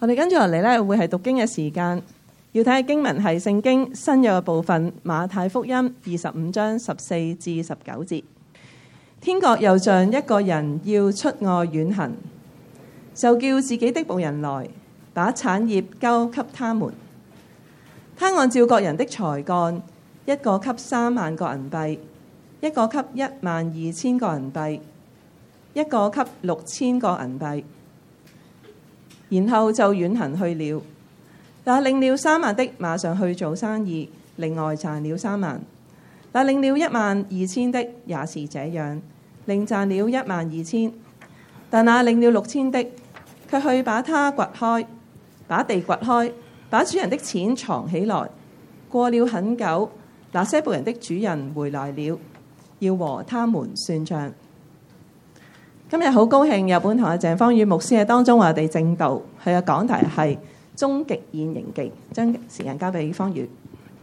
我哋跟住落嚟咧，會係讀經嘅時間，要睇嘅經文係聖經新約嘅部分，馬太福音25章14至19節。天國又像一個人要出外遠行，就叫自己的僕人來，把產業交給他們。他按照各人的才幹，一個給3萬個銀幣，一個給12000個銀幣，一個給6000個銀幣，然後就遠行去了。那領了3萬的馬上去做生意，另外賺了3萬。那領了12000的也是這樣，另賺了12000。但那領了6000的，卻去把地掘開，把主人的錢藏起來。過了很久，那些僕人的主人回來了，要和他們算賬。今日好高興有本堂嘅鄭方宇牧師喺當中為我哋證道，佢嘅講題係終極現形記。將時間交俾方宇。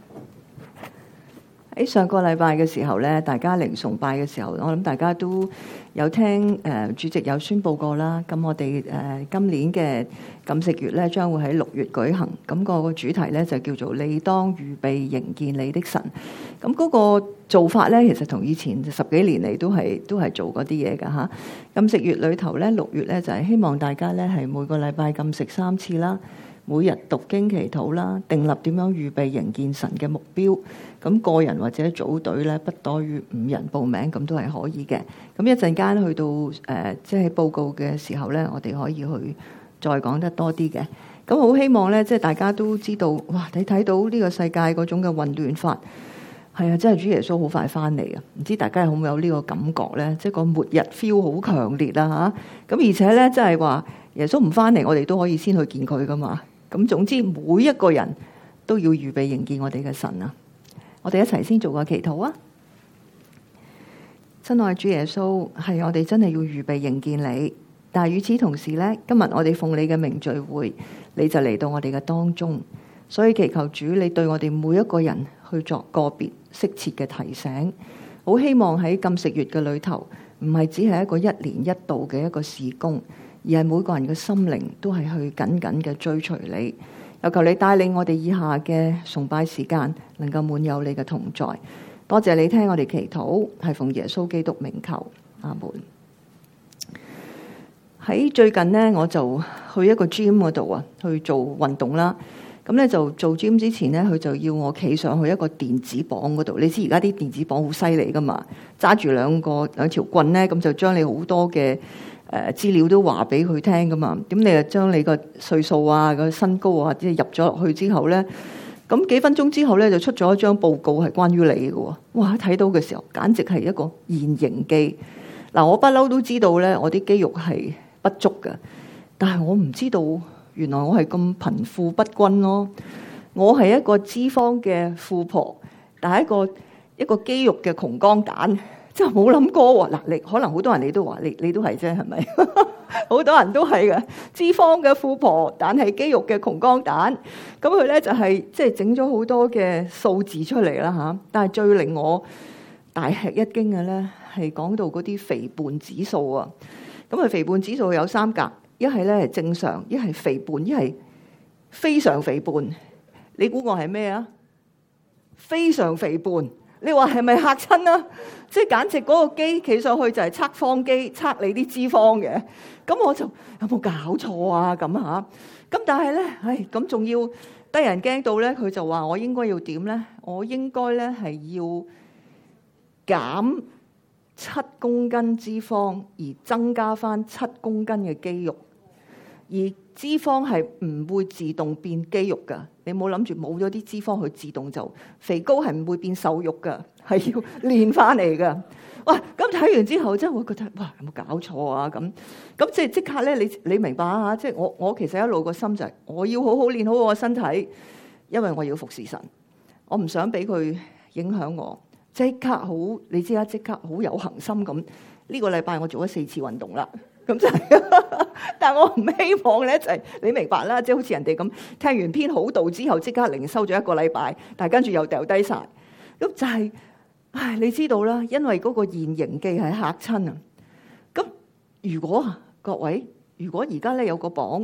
喺上個禮拜嘅時候咧，大家嚟崇拜嘅時候，我諗大家都有聽主席有宣佈過啦。咁我哋今年嘅禁食月咧，將會喺6月舉行。咁個主題咧就叫做你當預備迎見你的神。咁嗰個做法咧，其實同以前10幾年嚟都係做嗰啲嘢㗎嚇。禁食月裏頭咧，6月咧就係希望大家咧係每個禮拜禁食3次啦。每日讀經祈禱啦，訂立點樣預備迎見神嘅目標。咁個人或者組隊咧，不多於5人報名，咁都係可以嘅。咁一陣間去到即係報告嘅時候咧，我哋可以去再講得多啲嘅。咁好希望咧，即係大家都知道，哇！你睇到呢個世界嗰種嘅混亂法，係啊，真係主耶穌好快翻嚟啊！唔知大家有冇呢個感覺咧？即係個末日 feel 好強烈啊嚇！咁而且咧，即係話耶穌唔翻嚟，我哋都可以先去見佢噶嘛。咁總之，每一個人都要預備迎見我哋嘅神啊！我哋一齊先做個祈禱啊！親愛主耶穌，係我哋真係要預備迎見你，但係與此同時呢，今日我哋奉你嘅名聚會，你就嚟到我哋嘅當中，所以祈求主你對我哋每一個人去作個別適切嘅提醒。好希望喺禁食月嘅裏頭，唔係只係一個1年1度嘅一個事工，而係每個人嘅心靈都係去緊緊嘅追隨你。又求你帶領我哋以下嘅崇拜時間，能夠滿有你嘅同在。多謝你聽我哋祈禱，係奉耶穌基督名求，阿門。喺最近呢，我就去一個 gym 嗰度啊，去做運動啦。咁咧就做 gym 之前咧，佢就要我企上去一個電子磅嗰度。你知而家啲電子磅好犀利噶嘛，揸住兩條棍咧，咁就將你好多嘅資料都話俾佢聽噶嘛。咁你就將你個歲數啊、個身高啊，即係入咗落去之後咧，咁幾分鐘之後咧就出咗一張報告係關於你嘅喎。哇！睇到嘅時候簡直係一個現形記。嗱，我不嬲都知道咧，我啲肌肉係不足嘅，但係我唔知道原來我係咁貧富不均咯。我係一個脂肪嘅富婆，但係一個肌肉嘅窮光蛋，真係冇諗過喎。嗱，你可能好多人你都話你都係啫，係咪？好多人都係嘅，脂肪嘅富婆，但係肌肉嘅窮光蛋。咁佢咧就係即係整咗好多嘅數字出嚟啦嚇。但係最令我大吃一驚嘅咧，係講到嗰啲肥胖指數啊。咁啊，肥胖指數有3格，一係咧係正常，一係肥胖，一係非常肥胖。你估我係咩啊？非常肥胖。你話係咪嚇親啊？即係簡直嗰個機企上去就係測謊機，測你啲脂肪嘅。咁我就有冇搞錯啊？咁嚇。咁但係咧，咁仲要得人驚到咧，佢就話我應該要點咧？我應該咧係要減7公斤脂肪，而增加翻7公斤嘅肌肉。而脂肪係唔會自動變肌肉噶，你冇諗住冇咗啲脂肪佢自動就肥膏，係唔會變瘦肉噶，係要練翻嚟噶。哇！咁睇完之後真係會覺得哇，有冇搞錯啊？咁即刻咧，你明白啊？即係我其實一路個心就係我要好好練好我個身體，因為我要服侍神，我唔想俾佢影響我。即刻好，你知啦，即刻好有恒心咁。呢個禮拜我做咗4次運動啦。咁就係，但係我唔希望咧，就係你明白啦，即係好似人哋咁聽完篇好道之後，即刻靈修咗1個禮拜，但係跟住又掉低晒。咁就係，唉，你知道啦，因為嗰個現形記係嚇親啊。咁如果各位，如果而家咧有個磅，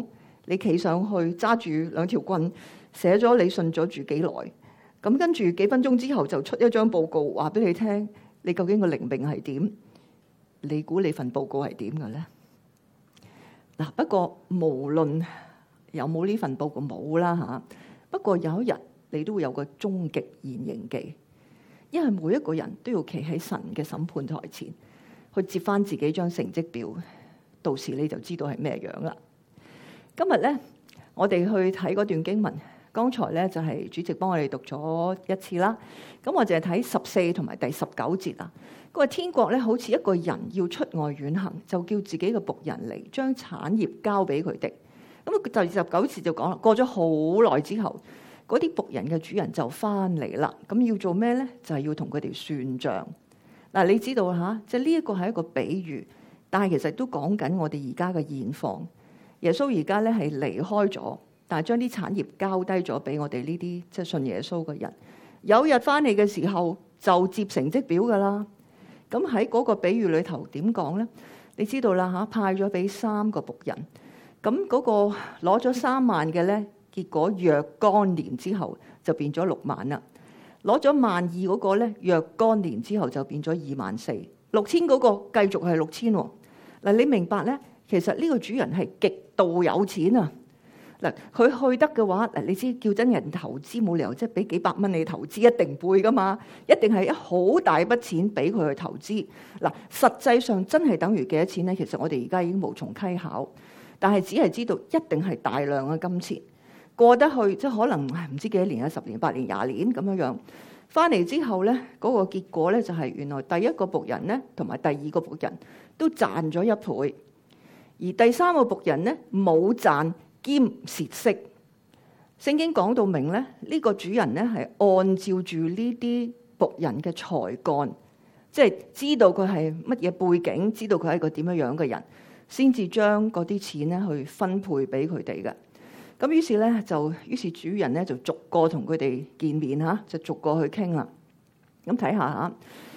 你企上去揸住2條棍，寫咗你信咗住幾耐，咁跟住幾分鐘之後就出一張報告話俾你聽，你究竟個靈命係點？你估你份報告係點嘅咧？嗱，不過無論有冇呢份報告冇啦嚇，不過有一日你都會有個終極現形記，因為每一個人都要企喺神嘅審判台前去接翻自己張成績表，到時你就知道係咩樣啦。今日咧，我哋去睇嗰段經文，剛才咧就係主席幫我哋讀咗一次啦。咁我淨係睇14同埋第19節啊。佢話天國咧好似一個人要出外遠行，就叫自己嘅僕人嚟將產業交俾佢哋。咁第19節就講啦，過咗好耐之後，嗰啲僕人嘅主人就翻嚟啦。咁要做咩咧？就係要同佢哋算賬。嗱，你知道嚇，即係呢一個係一個比喻，但係其實都講緊我哋而家嘅現況。耶穌而家咧係離開咗，但係將啲產業交低咗俾我哋呢啲即係信耶穌嘅人。有日翻嚟嘅時候就接成績表噶啦。咁喺嗰個比喻裏頭點講咧？你知道啦嚇，派咗俾3個僕人，咁嗰個攞咗3萬嘅咧，結果若干年之後就變咗6萬啦。攞咗12000嗰個咧，若干年之後就變咗24000。6000嗰個繼續係6000喎。嗱，你明白咧？其實呢個主人係極度有錢啊！嗱，佢去得嘅話，嗱，你知叫真人投資冇理由即係俾幾百蚊你投資一定背噶嘛，一定係一好大筆錢俾佢去投資。嗱，實際上真係等於幾多錢咧？其實我哋而家已經無從稽考，但係只係知道一定係大量嘅金錢過得去，即係可能唔知幾多年啊，10年、8年、20年咁樣樣。翻嚟之後咧，嗰個結果咧就係原來第一個僕人咧同埋第二個僕人都賺咗1倍，而第3個僕人咧冇賺兼蝕息。聖經講到明咧，呢個主人咧係按照住呢啲僕人嘅才幹，即係知道佢係乜嘢背景，知道佢係一個點樣樣嘅人，先至將嗰啲錢咧去分配俾佢哋嘅。咁於是主人咧就逐個同佢哋見面嚇，就逐個去傾啦。咁睇下嚇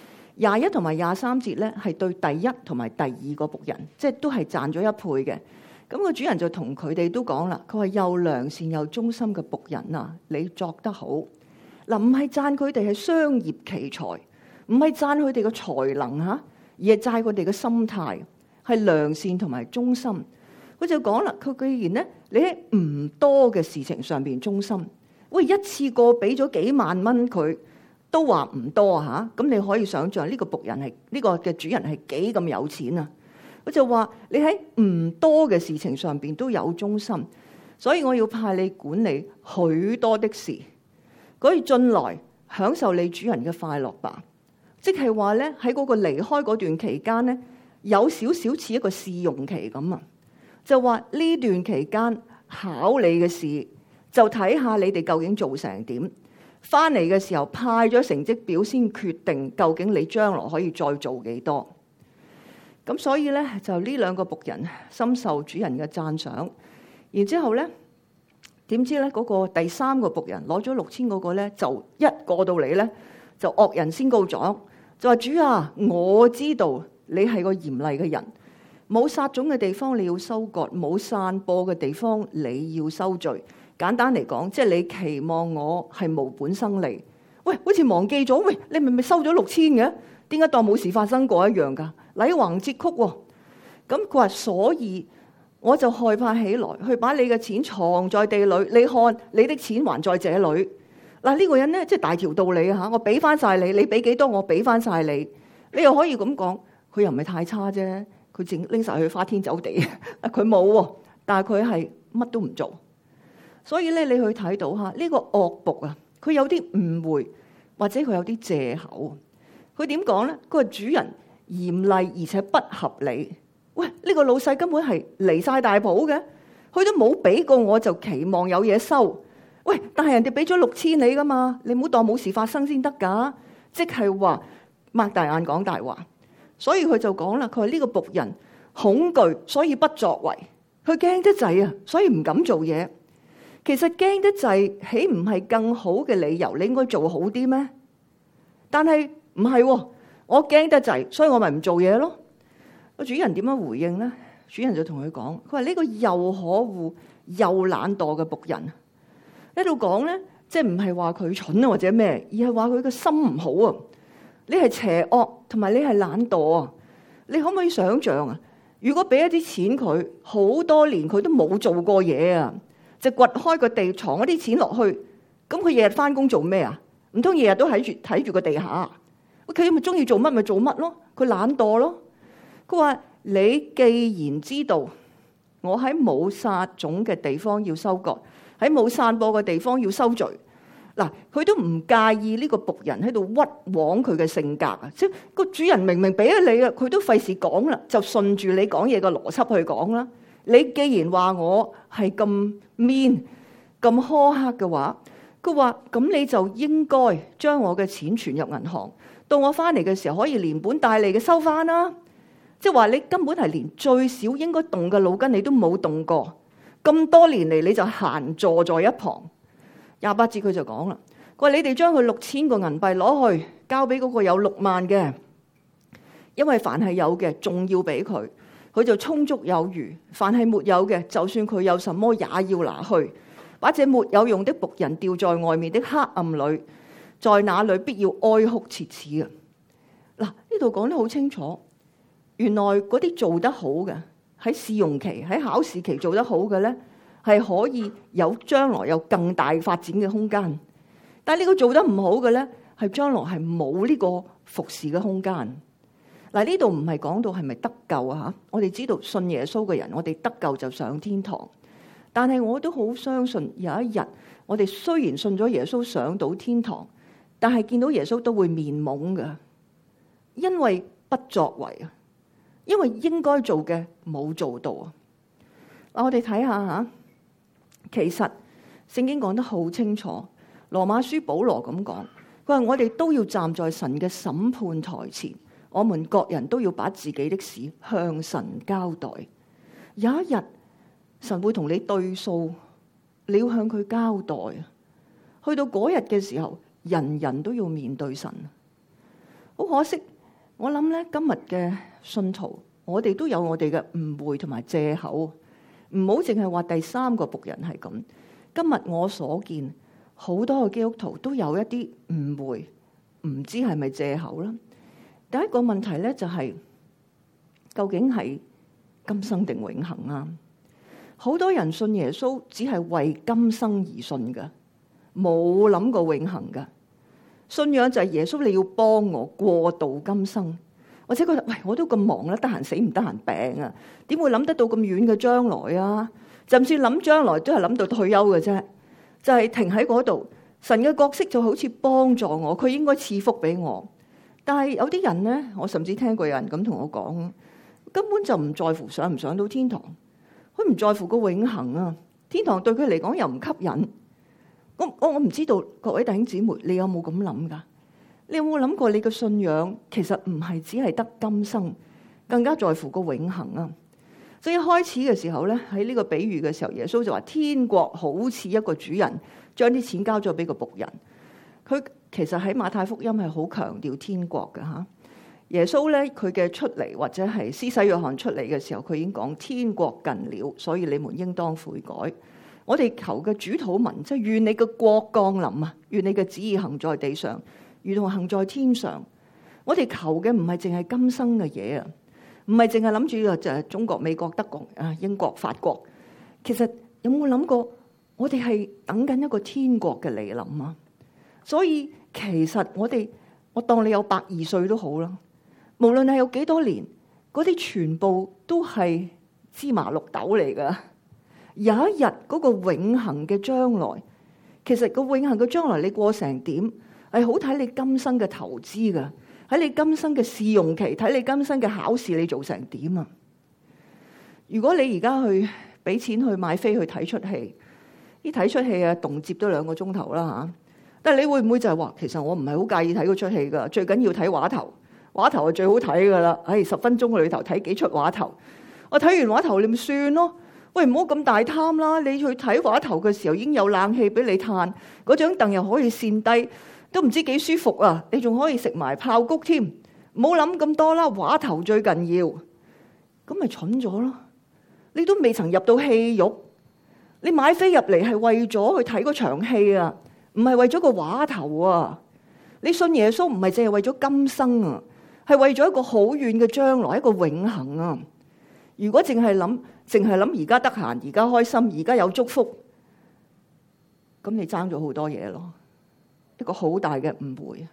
，21同埋23節咧係對第一同埋第二個僕人，即係都係賺咗1倍嘅。咁個主人就同佢哋都講啦，佢話又良善又忠心嘅僕人啊，你作得好。嗱，唔係讚佢哋係商業奇才，唔係讚佢哋嘅才能嚇，而係讚佢哋嘅心態係良善同埋忠心。佢就講啦，佢既然咧，你喺唔多嘅事情上邊忠心，喂，一次過俾咗幾萬蚊佢，都話唔多嚇。咁你可以想象呢個僕人係呢個嘅主人係幾咁有錢啊？佢就話你喺唔多嘅事情上邊都有忠心，所以我要派你管理許多的事，可以進來享受你主人嘅快樂吧。即係話咧，喺嗰個離開嗰段期間咧，有少少似一個試用期咁啊。就話呢段期間考你嘅事，就睇下你哋究竟做成點。翻嚟嘅時候派咗成績表先決定究竟你將來可以再做幾多。咁所以咧，就呢2個僕人深受主人嘅讚賞。然之後咧，點知咧嗰個第3個僕人攞咗6000嗰個咧，就一過到嚟咧就惡人先告狀，就話主啊，我知道你係個嚴厲嘅人。冇撒種嘅地方你要收割，冇散播嘅地方你要收聚。簡單嚟講，即係你期望我係無本生利。喂，好似忘記咗，喂，你明明收咗6000嘅，點解當冇事發生過一樣㗎？禮橫節曲喎。咁佢話，所以我就害怕起來，去把你嘅錢藏在地裏。你看，你的錢還在這裏。嗱，呢個人咧，即係大條道理嚇，我俾翻晒你，你俾幾多我俾翻晒你。你又可以咁講，佢又唔係太差啫。佢淨拎晒去花天酒地，佢冇喎，但係佢係乜都唔做。所以咧，你去睇到嚇呢個惡僕啊，佢有啲誤會，或者佢有啲藉口。佢點講咧？佢話主人嚴厲而且不合理。喂，呢個老細根本係離晒大譜嘅，佢都冇俾過我就期望有嘢收。喂，但係人哋俾咗6000你噶嘛，你唔好當冇事發生先得㗎。即係話擘大眼講大話。所以佢就講啦，佢話呢個僕人恐懼，所以不作為。佢驚得滯啊，所以唔敢做嘢。其實驚得滯，豈唔係更好嘅理由？你應該做好啲咩？但係唔係喎，我驚得滯，所以我咪唔做嘢咯。個主人點樣回應咧？主人就同佢講，佢話呢個又可惡又懶惰嘅僕人。喺度講咧，即係唔係話佢蠢啊或者咩，而係話佢個心唔好啊。你係邪惡同埋你係懶惰啊！你可唔可以想象啊？如果俾一啲錢佢，好多年佢都冇做過嘢啊，就掘開個地藏一啲錢落去，咁佢日日翻工做咩啊？唔通日日都睇住個地下？佢咪中意做乜咪做乜咯？佢懶惰咯。佢話：你既然知道我喺冇撒種嘅地方要收割，喺冇散播嘅地方要收聚。嗱，佢都唔介意呢個僕人喺度屈枉佢嘅性格啊！即係個主人明明俾咗你啊，佢都費事講啦，就順住你講嘢嘅邏輯去講啦。你既然話我係咁 mean 咁苛刻嘅話，佢話咁你就應該將我嘅錢存入銀行，到我翻嚟嘅時候可以連本帶利嘅收翻啦。即係話你根本係連最少應該動嘅腦筋你都冇動過，咁多年嚟你就閒坐在一旁。28節佢就講啦，佢話你哋將佢6000個銀幣攞去交俾嗰個有6萬嘅，因為凡係有嘅仲要俾佢，佢就充足有餘；凡係沒有嘅，就算佢有什麼也要拿去，把這沒有用的僕人掉在外面的黑暗裏，在那裏必要哀哭切齒啊！嗱，呢度講得好清楚，原來嗰啲做得好嘅喺試用期、喺考試期做得好嘅咧，係可以有將來有更大發展嘅空間，但係呢個做得唔好嘅咧，係將來係冇呢個服侍嘅空間。嗱，呢度唔係講到係咪得救啊嚇？我哋知道信耶穌嘅人，我哋得救就上天堂。但係我都好相信有一日，我哋雖然信咗耶穌上到天堂，但係見到耶穌都會面懵㗎，因為不作為啊，因為應該做嘅冇做到啊。嗱，我哋睇下嚇。其實聖經講得好清楚，羅馬書保羅咁講，佢話我哋都要站在神嘅審判台前，我們各人都要把自己的事向神交代。有一日神會同你對數，你要向佢交代。去到嗰日嘅時候，人人都要面對神。好可惜，我諗咧今日嘅信徒，我哋都有我哋嘅誤會同埋借口。唔好淨係話第三個僕人係咁。今日我所見好多嘅基督徒都有一啲誤會，唔知係咪借口啦。第一個問題咧就係究竟係今生定永恆啊？好多人信耶穌只係為今生而信噶，冇諗過永恆噶。信仰就係耶穌，你要幫我過渡今生。或者覺得喂，我都咁忙啦，得閒死唔得閒病啊？點會諗得到咁遠嘅將來啊？就算諗將來，都係諗到退休嘅啫，就係停喺嗰度。神嘅角色就好似幫助我，佢應該賜福俾我。但係有啲人咧，我甚至聽過有人咁同我講，根本就唔在乎上唔上到天堂，佢唔在乎個永恆啊！天堂對佢嚟講又唔吸引。我唔知道各位弟兄姊妹，你有冇咁諗噶？你有冇諗過你嘅信仰其實唔係只係得今生，更加在乎個永恆啊！所以一開始嘅時候咧，喺呢個比喻嘅時候，耶穌就話天國好似一個主人將啲錢交咗俾個僕人。佢其實喺馬太福音係好強調天國嘅嚇。耶穌咧佢嘅出嚟，或者係施洗約翰出嚟嘅時候，佢已經講天國近了，所以你們應當悔改。我哋求嘅主禱文即係願你嘅國降臨啊，願你嘅旨意行在地上，如同行在天上。我哋求嘅唔係淨係今生嘅嘢啊，唔係淨係諗住就係中國、美國、德國、英國、法國。其實有冇諗過，我哋係等緊一個天國嘅嚟臨啊？所以其實我當你有120歲都好啦，無論係有幾多年，嗰啲全部都係芝麻綠豆嚟噶。有一日嗰個永恆嘅將來，其實個永恆嘅將來你過成點？係好睇你今生嘅投資噶，喺你今生嘅試用期，睇你今生嘅考試你做成點啊？如果你而家去俾錢去買飛去睇出戲，睇出戲啊，動輒都2個鐘頭啦嚇。但係你會唔會就係話，其實我唔係好介意睇嗰出戲噶，最緊要睇話頭，話頭係最好睇噶啦。10分鐘嘅裏頭睇幾出話頭，我睇完話頭你咪算咯。喂，唔好咁大貪啦！你去睇話頭嘅時候已經有冷氣俾你嘆，嗰張凳又可以跣低，都唔知幾舒服啊！你仲可以食埋爆谷添，唔好諗咁多啦。話頭最緊要，咁咪蠢咗咯！你都未曾入到戲肉， 你買飛入嚟係為咗去睇嗰場戲啊，唔係為咗個話頭啊。你信耶穌唔係淨係為咗今生啊，係為咗一個好遠嘅將來，一個永恆啊。如果淨係諗而家得閒，而家開心，而家有祝福，咁你爭咗好多嘢咯，一個好大嘅誤會。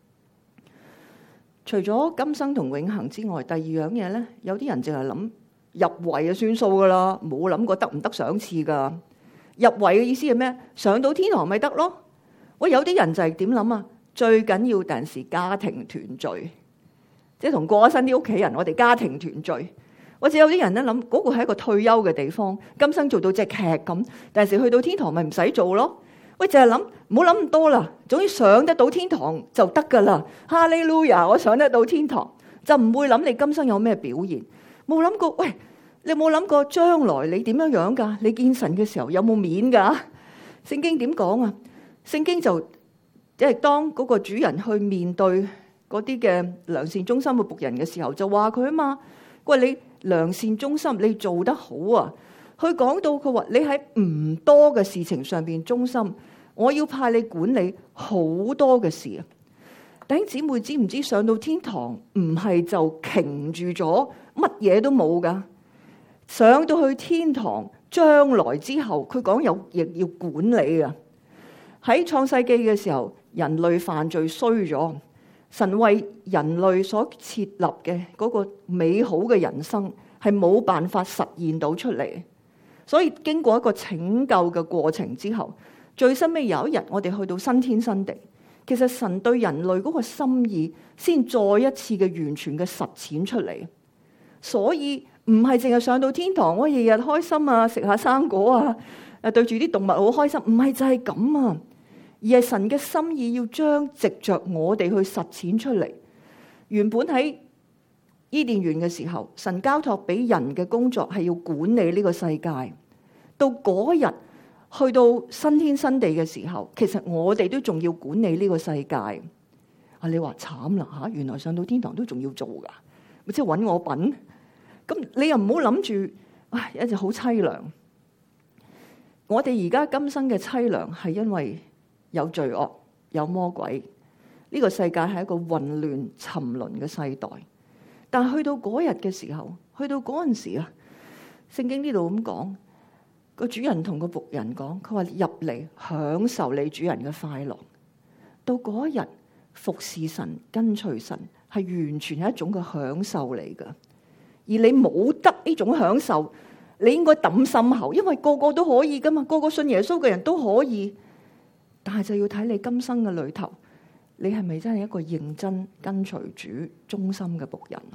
除咗今生同永恆之外，第二樣嘢咧，有啲人淨係諗入圍就算數噶啦，冇諗過得唔得賞賜噶。入圍嘅意思係咩？上到天堂咪得咯。喂，有啲人就係點諗啊？最緊要第時家庭團聚，即係同過咗身啲屋企人，我哋家庭團聚。或者有啲人咧諗嗰個係一個退休嘅地方，今生做到隻劇咁，第時去到天堂咪唔使做咯。喂，就係諗，唔好諗咁多啦。總之上得到天堂就得噶啦。哈利路亞，我上得到天堂，就唔會諗你今生有咩表現。冇諗過，喂，你有冇諗過將來你點樣樣噶？你見神嘅時候有冇面噶？聖經點講啊？聖經就即係當嗰個主人去面對嗰啲嘅良善忠心嘅僕人嘅時候，就話佢啊嘛。喂，你良善忠心，你做得好啊！佢講到佢話你喺唔多嘅事情上邊忠心，我要派你管理好多嘅事啊！弟兄姊妹知唔知上到天堂唔係就擎住咗乜嘢都冇噶？上到去天堂將來之後，佢講亦要管理啊！喺創世記嘅時候，人類犯罪衰咗。神為人類所設立嘅嗰個美好嘅人生係冇辦法實現到出嚟，所以經過一個拯救嘅過程之後，最深尾有一日我哋去到新天新地，其實神對人類嗰個心意先再一次嘅完全嘅實踐出嚟。所以唔係淨係上到天堂，我日日開心啊，食下生果啊，對住啲動物好開心，唔係就係咁啊。而係神嘅心意要將藉着我哋去實踐出嚟。原本喺伊甸園嘅時候，神交託俾人嘅工作係要管理呢個世界。到嗰日去到新天新地嘅時候，其實我哋都仲要管理呢個世界。啊，你話慘啦吓，原來上到天堂都仲要做噶，咪即係搵我笨？咁你又唔好諗住，唉，一直好淒涼。我哋而家今生嘅淒涼係因為有罪惡，有魔鬼，呢個世界係一個混亂沉淪嘅世代。但係去到嗰日嘅時候，去到嗰陣時啊，聖經呢度咁講，個主人同個僕人講，佢話入嚟享受你主人嘅快樂。到嗰日服侍神、跟隨神，係完全係一種嘅享受嚟噶。而你冇得呢種享受，你應該抌心口，因為個個都可以噶嘛，個個信耶穌嘅人都可以。但係就要睇你今生嘅裏頭，你係咪真係一個認真跟隨主、忠心嘅僕人啊？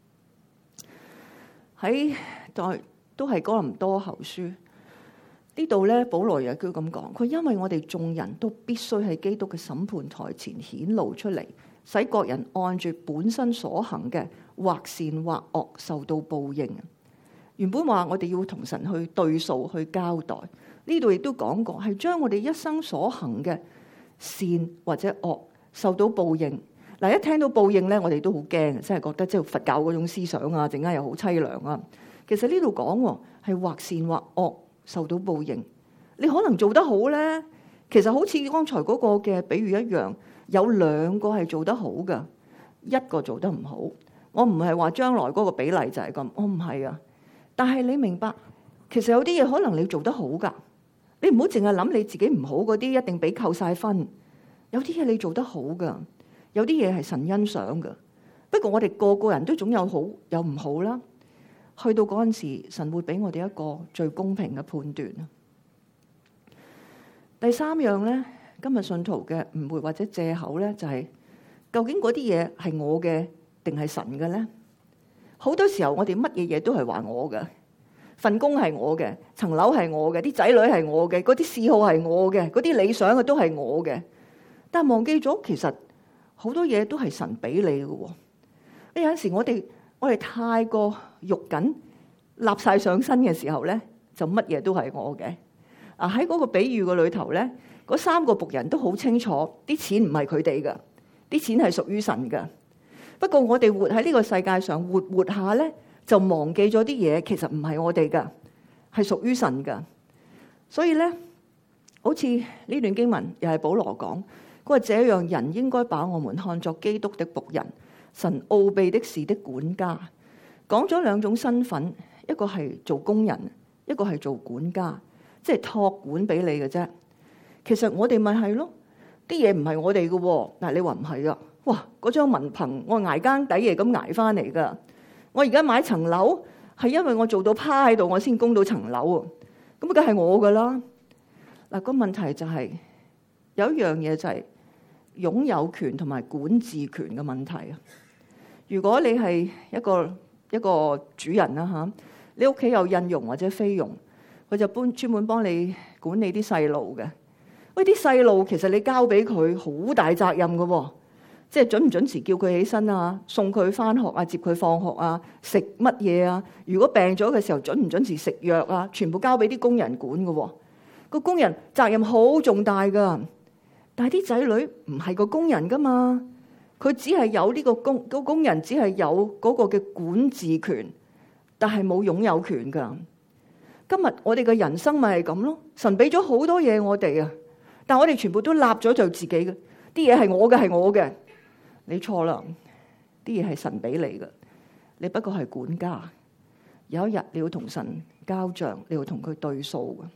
喺都係哥林多後書呢度咧，保羅又叫咁講，佢因為我哋眾人都必須喺基督嘅審判台前顯露出嚟，使各人按住本身所行嘅，或善或惡，受到報應。原本話我哋要同神去對數、去交代。呢度亦都講過，係將我哋一生所行嘅善或者惡受到報應。嗱，一聽到報應咧，我哋都好驚，真係覺得即係佛教嗰種思想啊，陣間又好淒涼啊。其實呢度講係或善或惡受到報應。你可能做得好咧，其實好似剛才嗰個嘅比喻一樣，有兩個係做得好噶，一個做得唔好。我唔係話將來嗰個比例就係咁，我唔係啊。但係你明白，其實有啲嘢可能你做得好噶。你唔好淨係諗你自己唔好嗰啲一定俾扣晒分，有啲嘢你做得好噶，有啲嘢係神欣賞噶。不過我哋個個人都總有好有唔好啦。去到嗰陣時，神會俾我哋一個最公平嘅判斷。第三樣咧，今日信徒嘅誤會或者借口咧，就係究竟嗰啲嘢係我嘅定係神嘅咧？好多時候我哋乜嘢嘢都係話我嘅。份工係我嘅，層樓係我嘅，啲仔女係我嘅，嗰啲嗜好係我嘅，嗰啲理想嘅都係我嘅。但係忘記咗，其實好多嘢都係神俾你嘅。有陣時我哋太過肉緊，立晒上身嘅時候咧，就乜嘢都係我嘅。啊，喺嗰個比喻嘅裏頭咧，嗰三個僕人都好清楚，啲錢唔係佢哋嘅，啲錢係屬於神嘅。不過我哋活喺呢個世界上活下咧，就忘記咗啲嘢，其實唔係我哋噶，係屬於神噶。 所以咧，好似呢段經文又係保羅講，佢話這樣人應該把我們看作基督的僕人，神奧秘的事的管家。講咗兩種身份，一個係做工人，一個係做管家，即係託管俾你嘅啫。其實我哋咪係咯，啲嘢唔係我哋嘅喎。但係你話唔係啊？哇！嗰張文憑我捱更抵夜咁捱翻嚟㗎。我而家買層樓係因為我做到趴喺度，我先供到層樓啊。咁梗係我㗎啦。嗱，個問題就係有一樣嘢就係擁有權同埋管治權嘅問題啊。如果你係一個主人啦嚇，你屋企有印傭或者菲傭，佢就專門幫你管理啲細路嘅。喂，啲細路其實你交俾佢好大責任嘅喎，即係準唔準時叫佢起身啊，送佢翻學啊，接佢放學啊，食乜嘢啊？如果病咗嘅時候，準唔準時食藥啊？全部交俾啲工人管嘅喎。個工人責任好重大噶，但係啲仔女唔係個工人噶嘛，佢只係有呢個工人只係有嗰個嘅管治權，但係冇擁有權噶。今日我哋嘅人生咪係咁咯，神俾咗好多嘢我哋啊，但係我哋全部都立咗就自己嘅，啲嘢係我嘅，係我嘅。你錯啦，啲嘢係神俾你嘅，你不過係管家。有一日你要同神交賬，你要同佢對數嘅。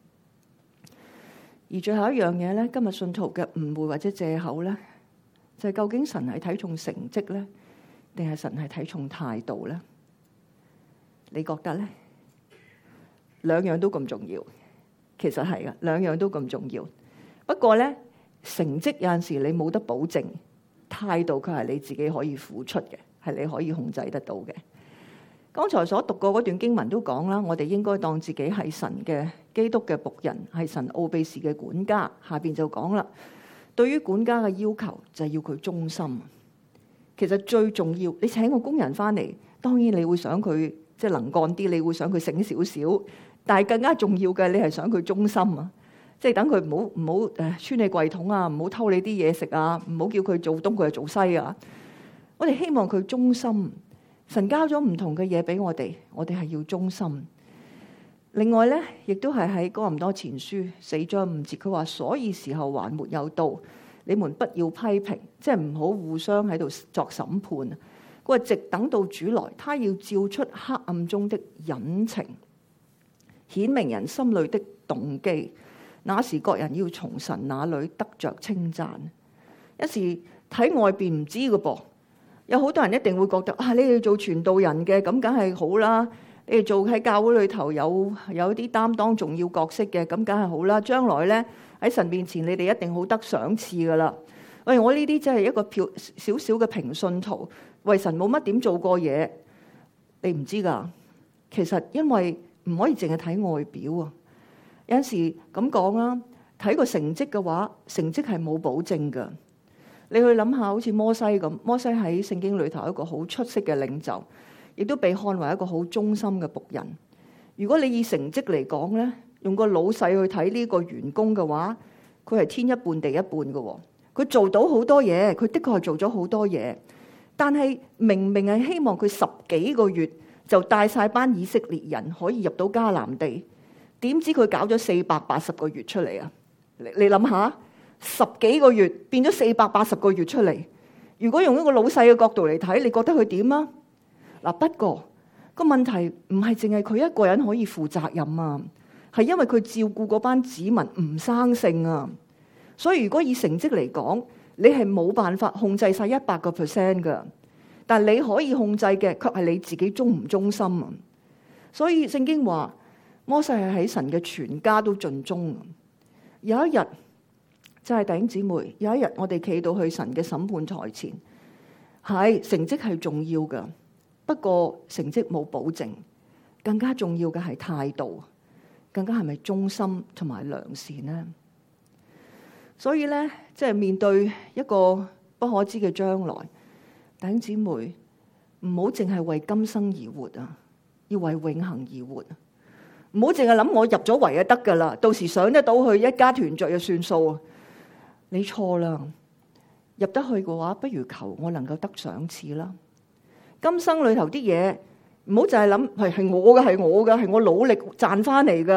而最後一樣嘢咧，今日信徒嘅誤會或者借口咧，就係究竟神係睇重成績咧，定係神係睇重態度咧？你覺得咧？兩樣都咁重要，其實係噶，兩樣都咁重要。不過咧，成績有陣時你冇得保證，態度佢係你自己可以付出嘅，係你可以控制得到嘅。剛才所讀過嗰段經文都講啦，我哋應該當自己係神嘅基督嘅僕人，係神奧秘事嘅管家。下邊就講啦，對於管家嘅要求就係要佢忠心。其實最重要，你請個工人翻嚟，當然你會想佢即係能幹啲，你會想佢醒少少，但係更加重要嘅，你係想佢忠心啊！即係等佢唔好穿你櫃桶啊，唔好偷你啲嘢食啊，唔好叫佢做東佢就做西啊！我哋希望佢忠心。神交咗唔同嘅嘢俾我哋係要忠心。另外咧，亦都係喺哥林多前書4章5節，佢話：所以時候還沒有到，你們不要批評，即係唔好互相喺度作審判。佢話直等到主來，他要照出黑暗中的隱情，顯明人心裏的動機。那時各人要從神那裏得着稱讚。一時睇外邊唔知嘅噃。有好多人一定會覺得啊，你哋做傳道人嘅咁梗係好啦，你哋做喺教會裏頭有啲擔當重要角色嘅咁梗係好啦，將來咧喺神面前你哋一定好得賞賜噶啦。喂，我呢啲真係一個少少嘅平信徒，為神冇乜點做過嘢，你唔知噶。其實因為唔可以淨係睇外表啊，有陣時咁講啊，睇個成績嘅話，成績係冇保證噶。你去諗下，好似摩西咁，摩西喺聖經裏頭一個好出色嘅領袖，亦都被看為一個好忠心嘅僕人。如果你以成績嚟講咧，用個老細去睇呢個員工嘅話，佢係天一半地一半嘅。佢做到好多嘢，佢的確係做咗好多嘢，但係明明係希望佢10幾個月就帶晒班以色列人可以入到迦南地，點知佢搞咗480個月出嚟啊？你諗下。10幾個月變咗480個月出嚟，如果用一個老細嘅角度嚟睇，你覺得佢點啊？嗱，不過個問題唔係淨係佢一個人可以負責任啊，係因為佢照顧嗰班子民唔生性啊。所以如果以成績嚟講，你係冇辦法控制晒100% 噶，但係你可以控制嘅，卻係你自己忠唔忠心啊。所以聖經話摩西係喺神嘅全家都盡忠。有一日。就係弟兄姊妹，有一日我哋企到去神嘅審判台前，係成績係重要嘅，不過成績冇保證，更加重要嘅係態度，更加係咪忠心同埋良善呢？所以咧，即係面對一個不可知嘅將來，弟兄姊妹唔好淨係為今生而活啊，要為永恆而活。唔好淨係諗我入咗圍就得噶啦，到時上得到去一家團聚就算數啊！你錯啦，入得去嘅話，不如求我能夠得賞賜啦。今生裏頭啲嘢，唔好就係諗係我嘅，係我努力賺翻嚟噶，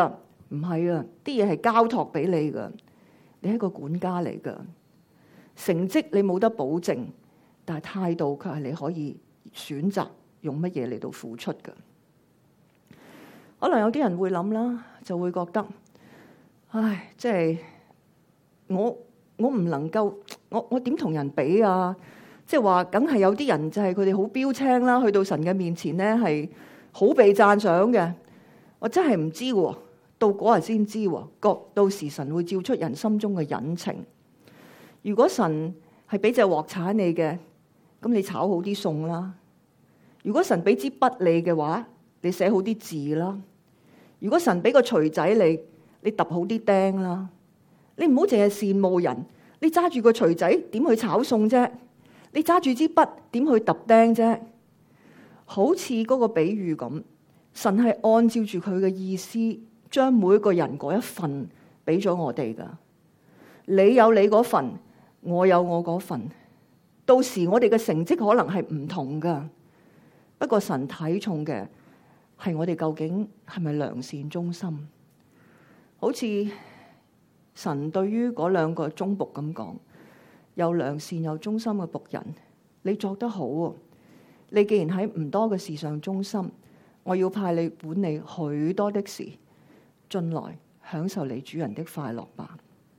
唔係啊，啲嘢係交託俾你噶，你係個管家嚟噶。成績你冇得保證，但係態度卻係你可以選擇用乜嘢嚟到付出噶。可能有啲人會諗啦，就會覺得，唉，即係我唔能夠，我點同人比啊？即係話，梗係有啲人就係佢哋好標青啦，去到神嘅面前咧係好被讚賞嘅。我真係唔知喎，到嗰日先知喎。到時神會照出人心中嘅隱情。如果神係俾隻鑊鏟你嘅，咁你炒好啲餸啦。如果神俾支筆你嘅話，你寫好啲字啦。如果神俾個錘仔你揼好啲釘啦。你唔好淨係羨慕人，你揸住個錘仔點去炒餸啫？你揸住支筆點去揼釘啫？好似嗰個比喻咁，神係按照住佢嘅意思，將每一個人嗰一份俾咗我哋噶。你有你嗰份，我有我嗰份。到時我哋嘅成績可能係唔同噶，不過神睇重嘅係我哋究竟係咪良善忠心。好似神對於嗰兩個忠僕咁講，又良善又忠心嘅僕人，你做得好喎！你既然喺唔多嘅事上忠心，我要派你管理許多的事，進來享受你主人的快樂吧。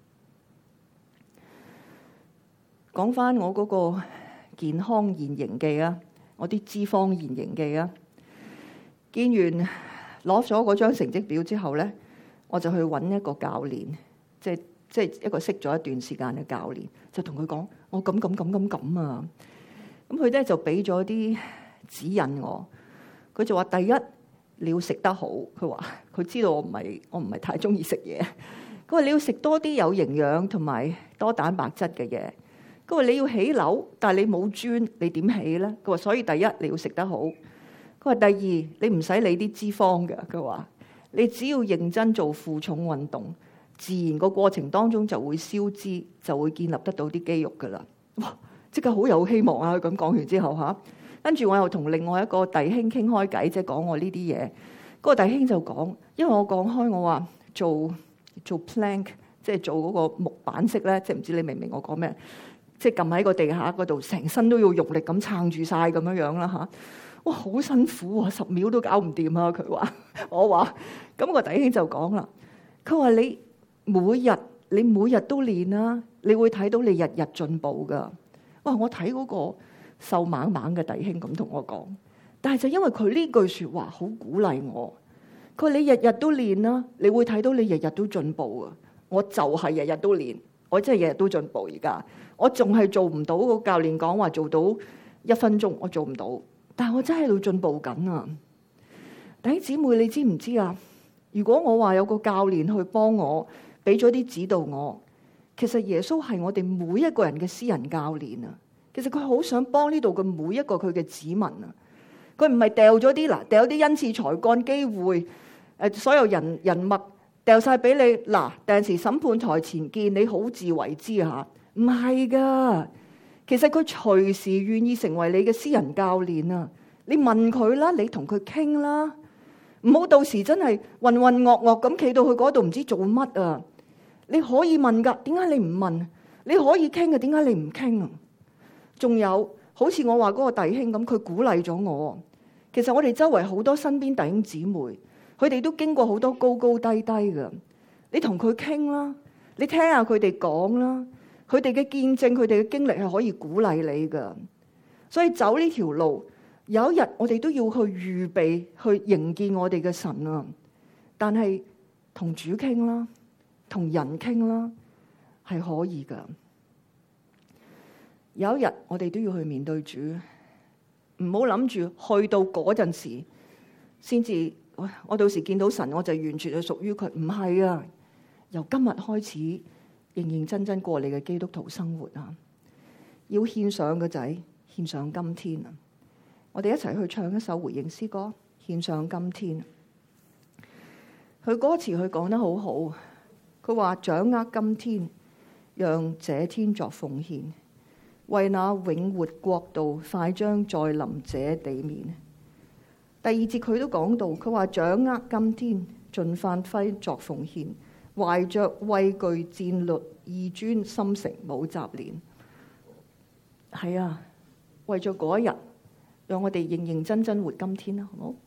講翻我嗰個健康現形記啊，我啲脂肪現形記啊，見完攞咗嗰張成績表之後咧，我就去揾一個教練。即係一個識咗一段時間嘅教練，就同佢講：我咁啊！咁佢咧就俾咗啲指引我。佢就話：第一，你要食得好。佢話佢知道我唔係太中意食嘢。佢話你要食多啲有營養同埋多蛋白質嘅嘢。佢話你要起樓，但係你冇磚，你點起咧？佢話所以第一你要食得好。佢話第二，你唔使理啲脂肪嘅。佢話你只要認真做負重運動，自然個過程當中就會消脂，就會建立得到啲肌肉噶啦。哇！即刻好有希望啊！佢咁講完之後嚇，跟住我又同另外一個弟兄傾開偈，即係講我呢啲嘢。嗰個弟兄就講，因為我講開我話做 plank， 即係做嗰個木板式咧，即係唔知你明唔明我講咩？即係撳喺個地下嗰度，成身都要用力咁撐住晒咁樣啦嚇。哇！好辛苦啊，10秒都搞唔掂啊！佢話，我話，咁個弟兄就講啦，佢話你每日都練啦，你會睇到你日日進步噶。哇！我睇嗰個瘦猛猛嘅弟兄咁同我講，但係就因為佢呢句說話好鼓勵我。佢話你日日都練啦，你會睇到你日日都進步啊。我就係日日都練，我真係日日都進步。而家我仲係做唔到個教練講話做到1分鐘，我做唔到，但係我真係喺度進步緊啊。弟兄姊妹，你知唔知啊？如果我話有個教練去幫我，俾咗啲指導我，其實耶穌係我哋每一個人嘅私人教練啊。其實佢好想幫呢度嘅每一個佢嘅子民啊。佢唔係掉咗啲掉啲恩賜才幹機會，所有人脈掉晒俾你嗱。第陣時審判台前見，你好自為之吓，唔係噶。其實佢隨時願意成為你嘅私人教練啊。你問佢啦，你同佢傾啦，唔好到時真係渾渾噩噩咁企到去嗰度唔知做乜啊。你可以問噶，點解你唔問？你可以傾嘅，點解你唔傾啊？仲有好似我話嗰個弟兄咁，佢鼓勵咗我。其實我哋周圍好多身邊弟兄姊妹，佢哋都經過好多高高低低嘅。你同佢傾啦，你聽下佢哋講啦，佢哋嘅見證，佢哋嘅經歷係可以鼓勵你噶。所以走呢條路，有一日我哋都要去預備去迎見我哋嘅神啊。但係同主傾啦，同人傾啦，係可以噶。有一日我哋都要去面對主，唔好諗住去到嗰陣時先至，我到時見到神我就完全係屬於佢。唔係啊，由今日開始認認真真過你嘅基督徒生活啊！要獻上個仔，獻上今天啊！我哋一齊去唱一首回應詩歌，獻上今天。佢歌詞佢講得好好，佢話掌握今天，讓這天作奉獻，為那永活國度快將再臨這地面。第二節佢都講到，佢話掌握今天， 盡發揮作奉獻，懷着畏懼戰慄義專心誠冇雜念。係啊，為咗嗰一日，讓我哋認認真真活今天啦，好唔好？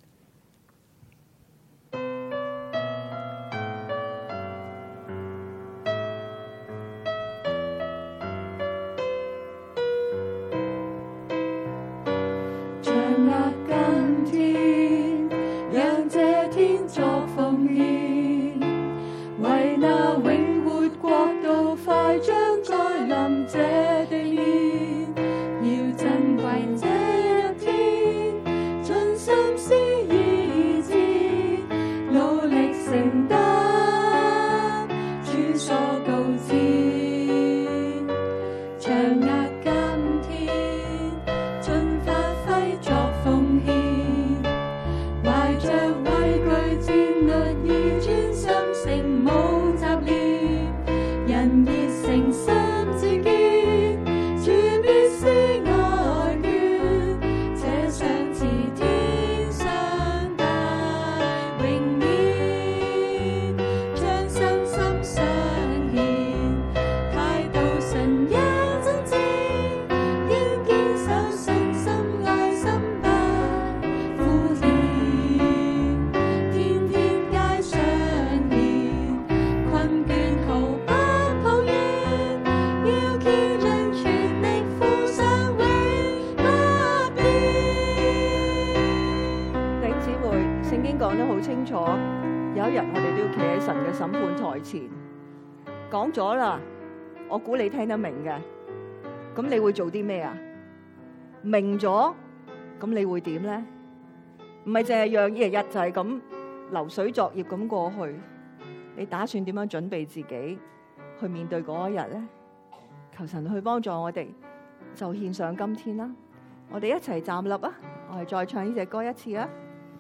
講咗啦，我估你聽得明嘅，咁你會做啲咩啊？明咗，咁你會點咧？唔係淨係讓一日就係咁流水作業咁過去，你打算點樣準備自己去面對嗰一日咧？求神去幫助我哋，就獻上今天啦！我哋一齊站立啊！我哋再唱呢隻歌一次啊！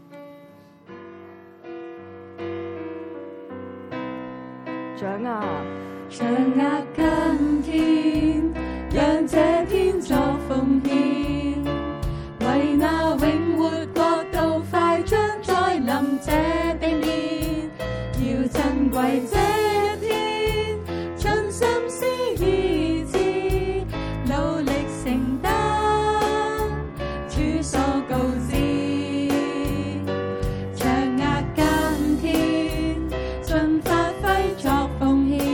掌握今天，讓這天作奉獻，為那永活國度快將再臨這地面，要珍貴這一天，盡心思意志，努力承擔主所告知，掌握今天，盡發揮作奉獻。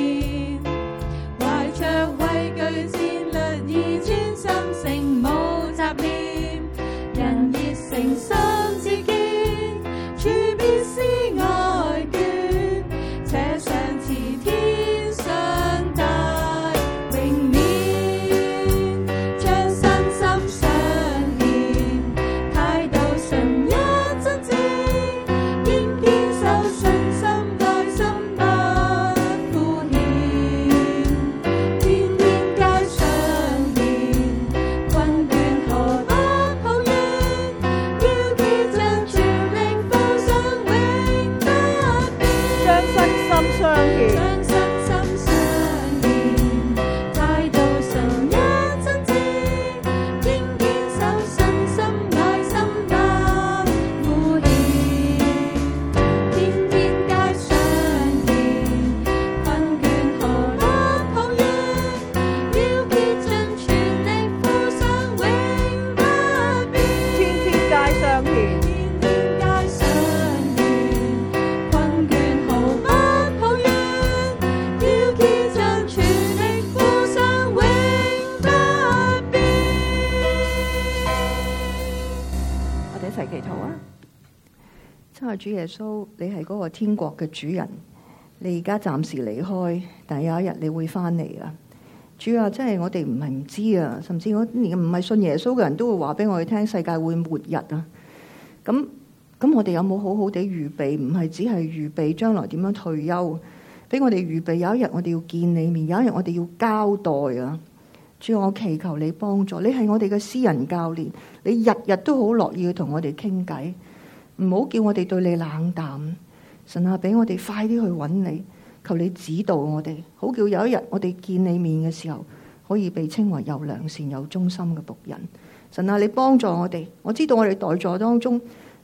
主耶穌，你係嗰個天國嘅主人，你而家暫時離開，但係有一日你會翻嚟啦。主啊，真係我哋唔係唔知啊，甚至我連唔係信耶穌嘅人都會話俾我哋聽，世界會末日啊。咁我哋有冇好好地預備？唔係只係預備將來點樣退休，俾我哋預備有一日我哋要見你面，有一日我哋要交代啊。主啊，我祈求你幫助，你係我哋嘅私人教練，你日日都好樂意去同我哋傾偈。唔好叫我哋對你冷淡，神啊，俾我哋快啲去揾你，求你指導我哋，好叫有一日我哋見你面嘅時候，可以被稱為又良善又忠心嘅僕人。神啊，你幫助我哋，我知道我哋在座當中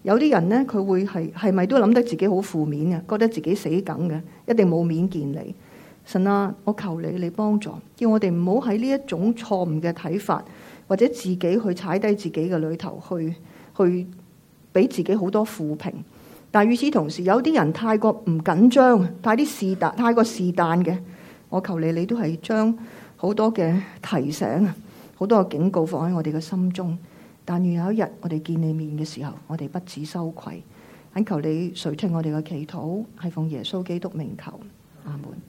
有啲人呢，佢會係咪都諗得自己好負面嘅，覺得自己死梗嘅，一定冇面見你。神啊，我求你幫助，叫我哋唔好喺呢一種錯誤嘅睇法，或者自己去踩低自己嘅裏頭，去俾自己好多負評。但係與此同時，有啲人太過唔緊張，太過是但嘅，我求你都係將好多嘅提醒，好多嘅警告放喺我哋嘅心中。但願有一日我哋見你面嘅時候，我哋不致羞愧。懇求你垂聽我哋嘅祈禱，係奉耶穌基督名求，阿門。